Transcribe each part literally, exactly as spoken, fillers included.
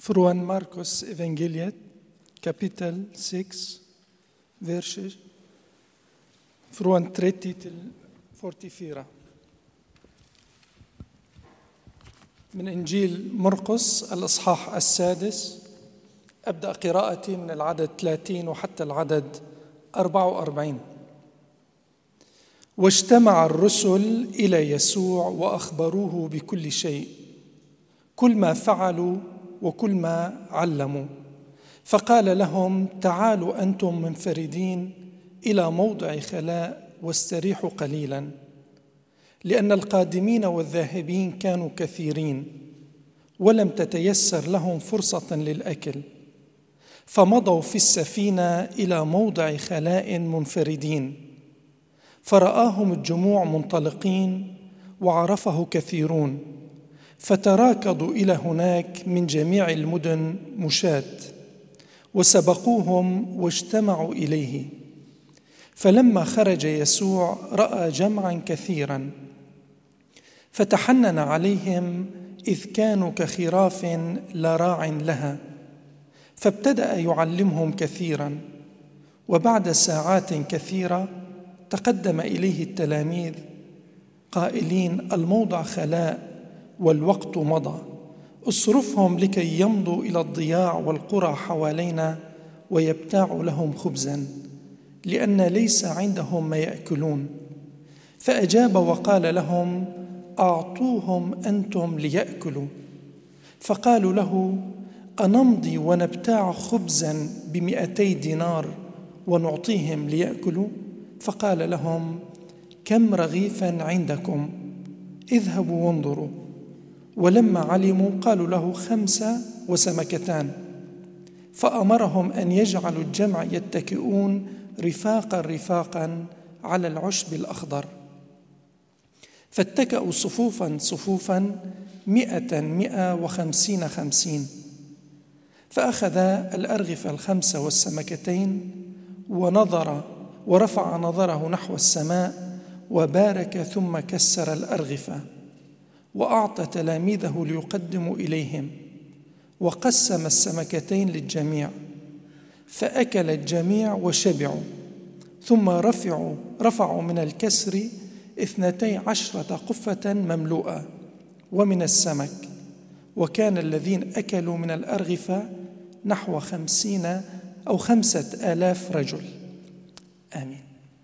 Från Markus evangeliet kapitel sex, verser från trettio till fyrtiofyra. من إنجيل مرقس الإصحاح السادس، أبدأ قراءتي من العدد ثلاثين وحتى العدد أربعة وأربعين. واجتمع الرسل إلى يسوع وأخبروه بكل شيء، كل ما فعلوا وكل ما علموا، فقال لهم: تعالوا أنتم منفردين إلى موضع خلاء واستريحوا قليلا، لأن القادمين والذاهبين كانوا كثيرين، ولم تتيسر لهم فرصة للأكل، فمضوا في السفينة إلى موضع خلاء منفردين. فرآهم الجموع منطلقين وعرفه كثيرون، فتراكضوا إلى هناك من جميع المدن مشاة، وسبقوهم واجتمعوا إليه. فلما خرج يسوع رأى جمعا كثيرا، فتحنن عليهم إذ كانوا كخراف لا راع لها، فابتدأ يعلمهم كثيرا. وبعد ساعات كثيرة تقدم إليه التلاميذ قائلين: الموضع خلاء والوقت مضى، اصرفهم لكي يمضوا إلى الضياع والقرى حوالينا ويبتاعوا لهم خبزا، لأن ليس عندهم ما يأكلون. فأجاب وقال لهم: أعطوهم أنتم ليأكلوا. فقالوا له: أنمضي ونبتاع خبزا بمئتي دينار ونعطيهم ليأكلوا؟ فقال لهم: كم رغيفا عندكم؟ اذهبوا وانظروا. ولما علموا قالوا له: خمسة وسمكتان. فأمرهم أن يجعلوا الجمع يتكئون رفاقا رفاقا على العشب الأخضر. فاتكأوا صفوفا صفوفا، مئة مئة وخمسين خمسين. فأخذ الأرغفة الخمسة والسمكتين ونظر ورفع نظره نحو السماء وبارك، ثم كسر الأرغفة وأعطى تلاميذه ليقدموا إليهم، وقسم السمكتين للجميع، فأكل الجميع وشبعوا. ثم رفعوا رفعوا من الكسر اثنتي عشرة قفة مملوءة ومن السمك، وكان الذين أكلوا من الأرغفة نحو خمسين أو خمسة آلاف رجل. آمين.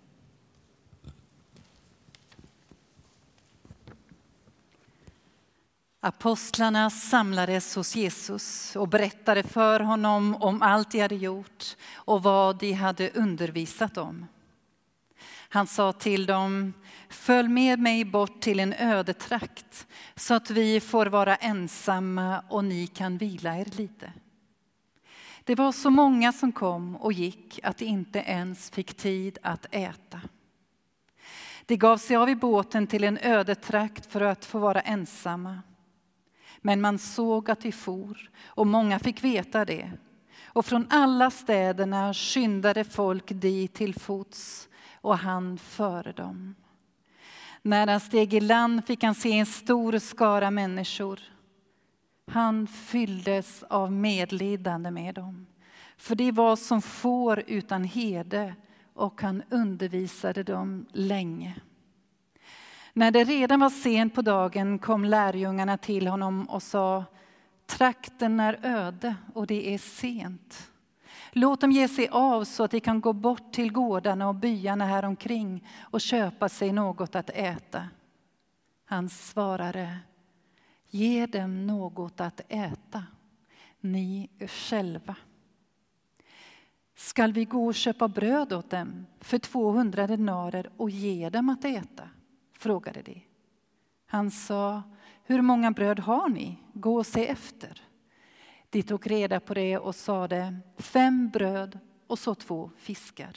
Apostlarna samlades hos Jesus och berättade för honom om allt de hade gjort och vad de hade undervisat om. Han sa till dem: följ med mig bort till en ödetrakt så att vi får vara ensamma och ni kan vila er lite. Det var så många som kom och gick att de inte ens fick tid att äta. De gav sig av i båten till en ödetrakt för att få vara ensamma. Men man såg att de for, och många fick veta det. Och från alla städerna skyndade folk dit till fots, och han före dem. När han steg i land fick han se en stor skara människor. Han fylldes av medlidande med dem, för det var som får utan herde, och han undervisade dem länge. När det redan var sent på dagen kom lärjungarna till honom och sa: trakten är öde och det är sent. Låt dem ge sig av så att de kan gå bort till gårdarna och byarna här omkring och köpa sig något att äta. Han svarade: ge dem något att äta, ni själva. Skall vi gå och köpa bröd åt dem för tvåhundra denarer och ge dem att äta? Frågade de. Han sa: hur många bröd har ni? Gå och se efter. De tog reda på det och sade: fem bröd och så två fiskar.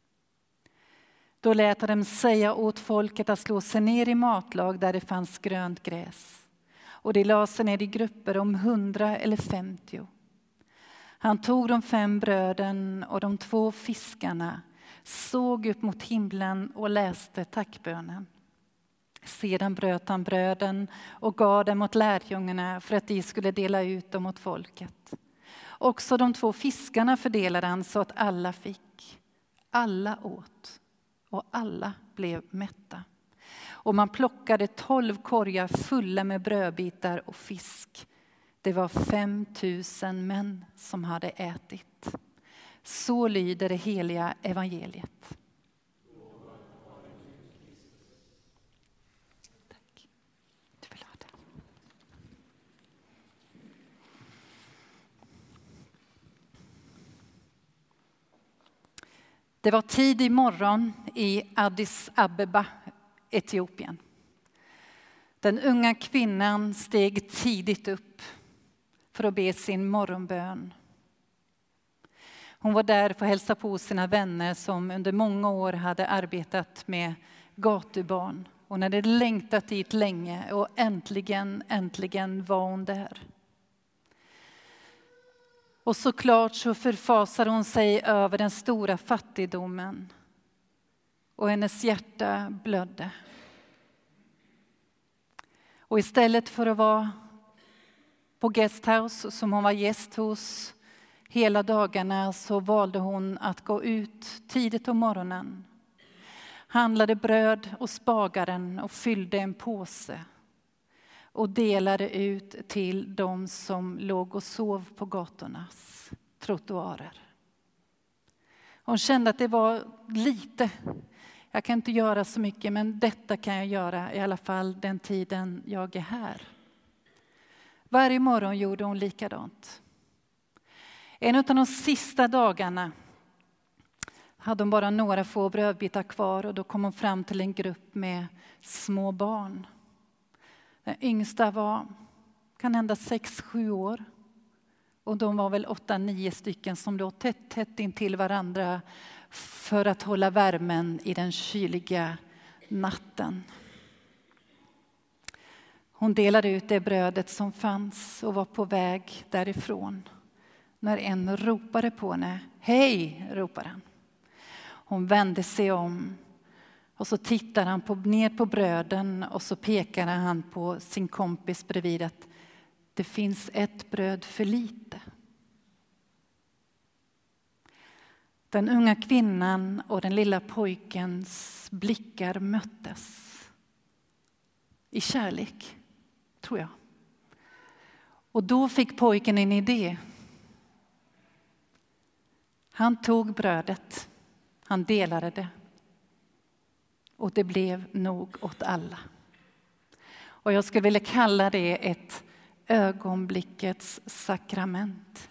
Då lät de säga åt folket att slå sig ner i matlag där det fanns grönt gräs. Och de la sig ner i grupper om hundra eller femtio. Han tog de fem bröden och de två fiskarna, såg upp mot himlen och läste tackbönen. Sedan bröt han bröden och gav dem åt lärjungarna för att de skulle dela ut dem åt folket. Också de två fiskarna fördelade han så att alla fick. Alla åt och alla blev mätta. Och man plockade tolv korgar fulla med brödbitar och fisk. Det var fem tusen män som hade ätit. Så lyder det heliga evangeliet. Tack. Du vill ha det. Det var tidig morgon i Addis Abeba, Etiopien. Den unga kvinnan steg tidigt upp för att be sin morgonbön. Hon var där för att hälsa på sina vänner som under många år hade arbetat med gatubarn. Hon hade längtat dit länge och äntligen, äntligen var hon där. Och såklart så förfasade hon sig över den stora fattigdomen. Och hennes hjärta blödde. Och istället för att vara på guesthouse som hon var gäst hos hela dagarna så valde hon att gå ut tidigt om morgonen. Handlade bröd och spagaren och fyllde en påse. Och delade ut till de som låg och sov på gatornas trottoarer. Hon kände att det var lite. Jag kan inte göra så mycket, men detta kan jag göra i alla fall den tiden jag är här. Varje morgon gjorde hon likadant. En av de sista dagarna hade hon bara några få brödbitar kvar och då kom hon fram till en grupp med små barn. Den yngsta var kan hända sex, sju år. Och de var väl åtta, nio stycken som låg tätt, tätt in till varandra för att hålla värmen i den kyliga natten. Hon delade ut det brödet som fanns och var på väg därifrån. När en ropade på henne. Hej, ropade han. Hon vände sig om. Och så tittade han på, ner på bröden och så pekade han på sin kompis bredvid att det finns ett bröd för lite. Den unga kvinnan och den lilla pojkens blickar möttes. I kärlek, tror jag. Och då fick pojken en idé. Han tog brödet, han delade det. Och det blev nog åt alla. Och jag skulle vilja kalla det ett ögonblickets sakrament.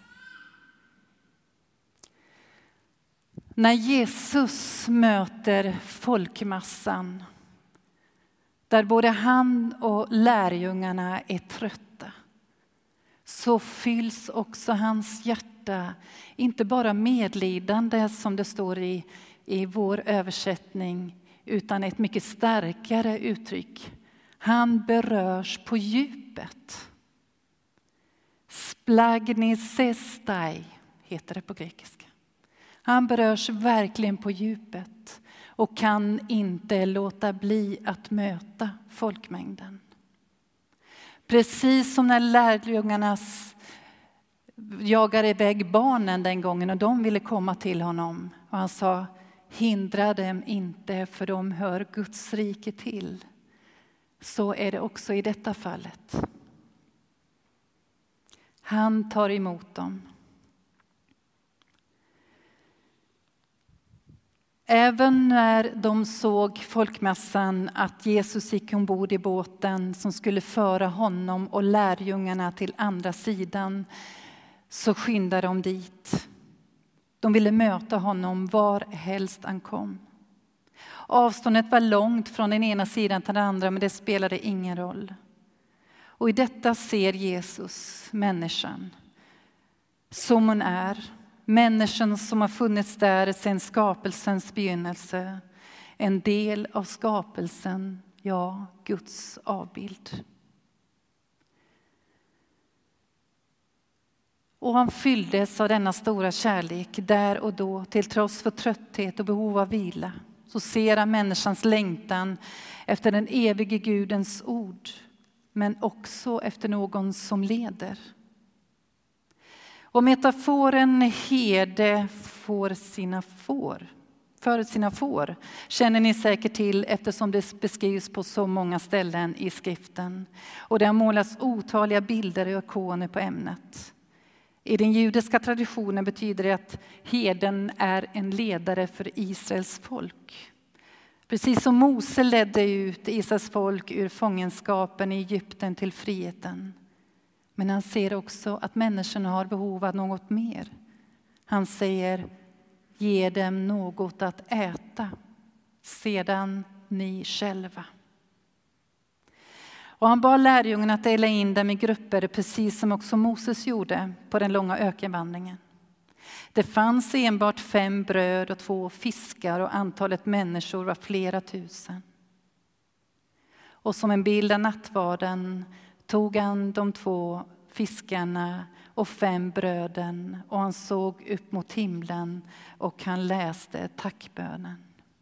När Jesus möter folkmassan, där både han och lärjungarna är trötta, så fylls också hans hjärta, inte bara medlidande som det står i, i vår översättning, utan ett mycket starkare uttryck. Han berörs på djupet. Splagnisestai heter det på grekiska. Han berörs verkligen på djupet och kan inte låta bli att möta folkmängden. Precis som när lärjungarnas jagade iväg barnen den gången och de ville komma till honom. Och han sa, hindra dem inte för de hör Guds rike till. Så är det också i detta fallet. Han tar emot dem. Även när de såg folkmassan att Jesus gick ombord i båten som skulle föra honom och lärjungarna till andra sidan, så skyndade de dit. De ville möta honom var helst han kom. Avståndet var långt från den ena sidan till den andra, men det spelade ingen roll. Och i detta ser Jesus människan som hon är. Människan som har funnits där sedan skapelsens begynnelse. En del av skapelsen, ja, Guds avbild. Och han fylldes av denna stora kärlek där och då, till trots för trötthet och behov av vila. så ser han människans längtan efter den evige Gudens ord, men också efter någon som leder. Och metaforen herde får sina får, för sina får känner ni säkert till eftersom det beskrivs på så många ställen i skriften. Och det har målats otaliga bilder och ikoner på ämnet. I den judiska traditionen betyder det att herden är en ledare för Israels folk. Precis som Mose ledde ut Israels folk ur fångenskapen i Egypten till friheten. Men han ser också att människorna har behov av något mer. Han säger, ge dem något att äta, sedan ni själva. Och han bad lärjungarna att dela in dem i grupper, precis som också Moses gjorde på den långa ökenvandringen. Det fanns enbart fem bröd och två fiskar och antalet människor var flera tusen. Och som en bild av nattvarden tog han de två fiskarna och fem bröden och han såg upp mot himlen och han läste tackbönen.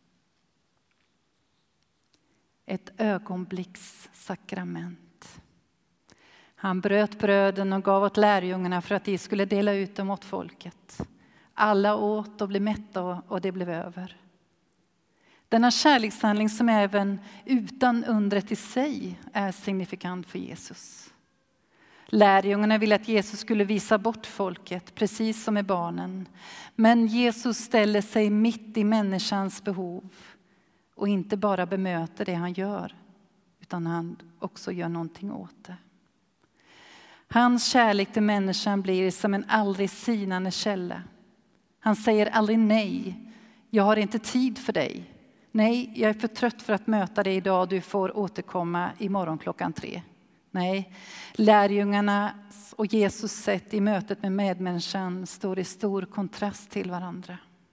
Ett ögonblicks sakrament. Han bröt bröden och gav åt lärjungarna för att de skulle dela ut dem åt folket. Alla åt och blev mätta och det blev över. Denna kärlekshandling som även utan undret i sig är signifikant för Jesus. Lärjungarna ville att Jesus skulle visa bort folket, precis som med barnen. Men Jesus ställer sig mitt i människans behov och inte bara bemöter det han gör, utan han också gör någonting åt det. Hans kärlek till människan blir som en aldrig sinande källa. Han säger aldrig nej, jag har inte tid för dig. Nej, jag är för trött för att möta dig idag, du får återkomma imorgon klockan tre. Nej, lärjungarna och Jesus sätt i mötet med medmänniskan står i stor kontrast till varandra.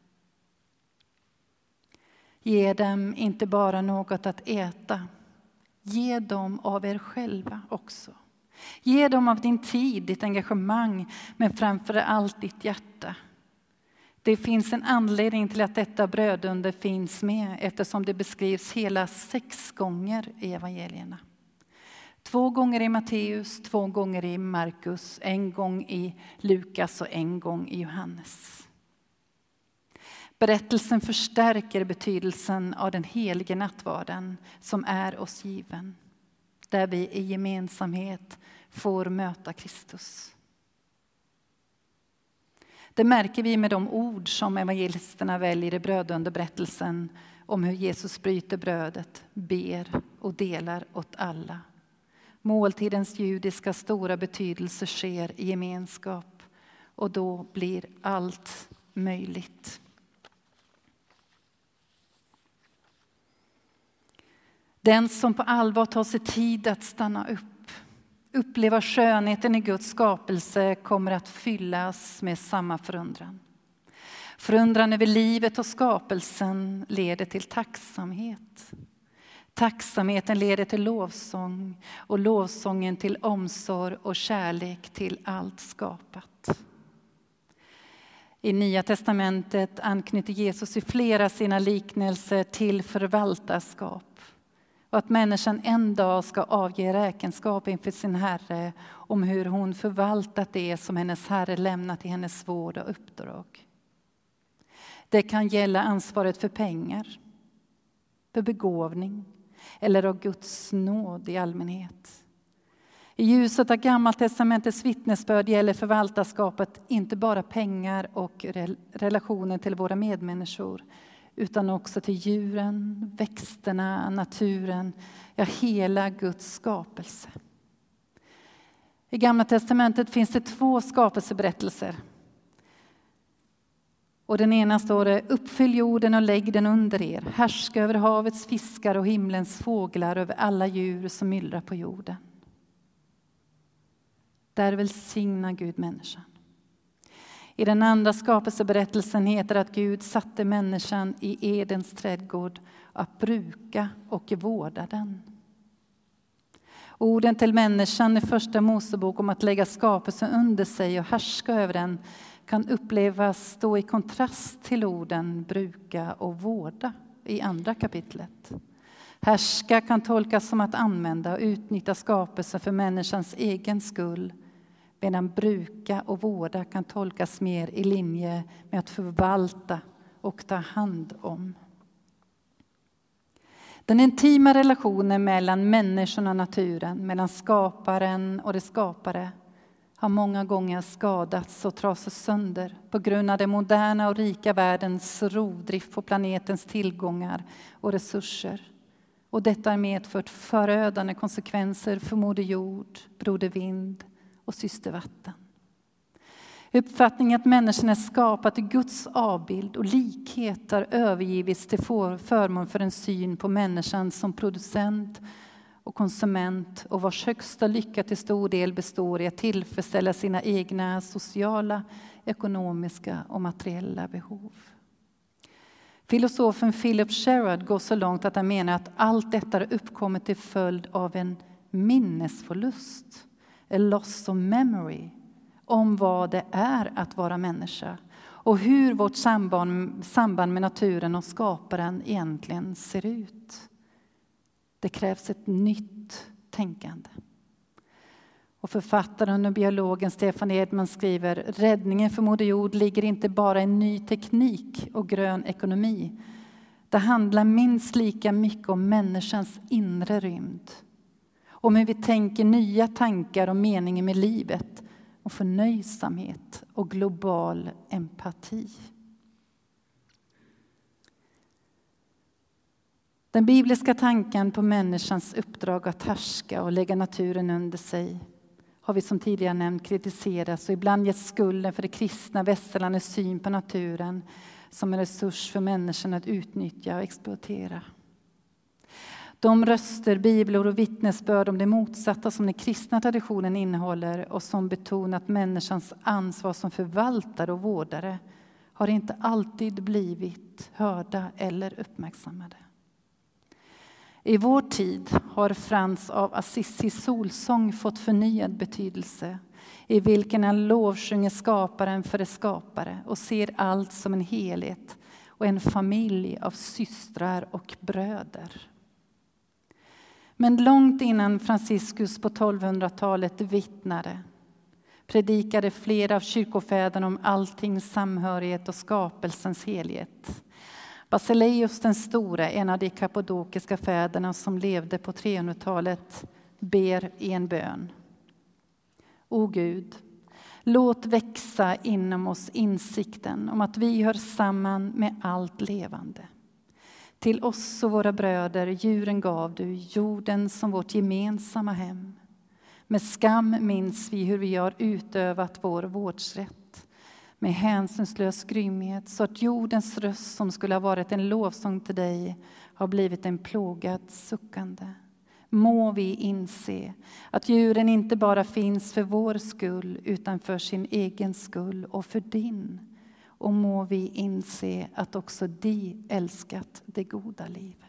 Ge dem inte bara något att äta, ge dem av er själva också. Ge dem av din tid, ditt engagemang, men framför allt ditt hjärta. Det finns en anledning till att detta brödunder finns med eftersom det beskrivs hela sex gånger i evangelierna. Två gånger i Matteus, två gånger i Markus, en gång i Lukas och en gång i Johannes. Berättelsen förstärker betydelsen av den helige nattvarden som är oss given. Där vi i gemensamhet får möta Kristus. Det märker vi med de ord som evangelisterna väljer i brödunderberättelsen om hur Jesus bryter brödet, ber och delar åt alla. Måltidens judiska stora betydelse sker i gemenskap och då blir allt möjligt. Den som på allvar tar sig tid att stanna upp, uppleva skönheten i Guds skapelse kommer att fyllas med samma förundran. Förundran över livet och skapelsen leder till tacksamhet. Tacksamheten leder till lovsång och lovsången till omsorg och kärlek till allt skapat. I Nya testamentet anknyter Jesus i flera sina liknelser till förvaltarskap. Och att människan en dag ska avge räkenskap inför sin Herre om hur hon förvaltat det som hennes Herre lämnat i hennes vård och uppdrag. Det kan gälla ansvaret för pengar, för begåvning eller av Guds nåd i allmänhet. I ljuset av Gammaltestamentets vittnesbörd gäller förvaltarskapet inte bara pengar och relationen till våra medmänniskor, utan också till djuren, växterna, naturen, ja hela Guds skapelse. I Gamla testamentet finns det två skapelseberättelser. Och den ena står det, uppfyll jorden och lägg den under er. Härska över havets fiskar och himlens fåglar, över alla djur som myllrar på jorden. Där välsignar Gud människan. I den andra skapelseberättelsen heter det att Gud satte människan i Edens trädgård att bruka och vårda den. Orden till människan i första Mosebok om att lägga skapelsen under sig och härska över den kan upplevas stå i kontrast till orden bruka och vårda i andra kapitlet. Härska kan tolkas som att använda och utnyttja skapelsen för människans egen skull, medan bruka och vårda kan tolkas mer i linje med att förvalta och ta hand om. Den intima relationen mellan människan och naturen, mellan skaparen och det skapare, har många gånger skadats och trasats sönder på grund av den moderna och rika världens rovdrift på planetens tillgångar och resurser. Och detta har medfört förödande konsekvenser för moder jord, broder vind och syster vatten. Uppfattningen att människan är skapad i Guds avbild och likhet har övergivits till förmån för en syn på människan som producent och konsument, och vars högsta lycka till stor del består i att tillfredsställa sina egna sociala, ekonomiska och materiella behov. Filosofen Philip Sherrod går så långt att han menar att allt detta har uppkommit till följd av en minnesförlust, a loss of memory, om vad det är att vara människa och hur vårt samband, samband med naturen och skaparen egentligen ser ut. Det krävs ett nytt tänkande. Och författaren och biologen Stefan Edman skriver: räddningen för moder jord ligger inte bara i ny teknik och grön ekonomi. Det handlar minst lika mycket om människans inre rymd. Om hur vi tänker nya tankar och meningen med livet, och förnöjsamhet och global empati. Den bibliska tanken på människans uppdrag att härska och lägga naturen under sig har vi som tidigare nämnt kritiserats och ibland gett skulden för det kristna västerlandets syn på naturen som en resurs för människan att utnyttja och exploatera. De röster, bibelord och vittnesbörd om det motsatta som den kristna traditionen innehåller och som betonat människans ansvar som förvaltare och vårdare har inte alltid blivit hörda eller uppmärksammade. I vår tid har Frans av Assisi solsång fått förnyad betydelse, i vilken han lovsjunger skaparen för det skapare och ser allt som en helhet och en familj av systrar och bröder. Men långt innan Franciscus på tolvhundratalet vittnade, predikade flera av kyrkofäderna om alltings samhörighet och skapelsens helhet. Basileus den store, en av de kappadokiska fäderna som levde på trehundratalet, ber i en bön: O Gud, låt växa inom oss insikten om att vi hör samman med allt levande. Till oss och våra bröder djuren gav du jorden som vårt gemensamma hem. Med skam minns vi hur vi har utövat vår vårdsrätt. Med hänsynslös grymhet, så att jordens röst som skulle ha varit en lovsång till dig har blivit en plågad suckande. Må vi inse att djuren inte bara finns för vår skull utan för sin egen skull och för din. Och må vi inse att också de älskat det goda livet.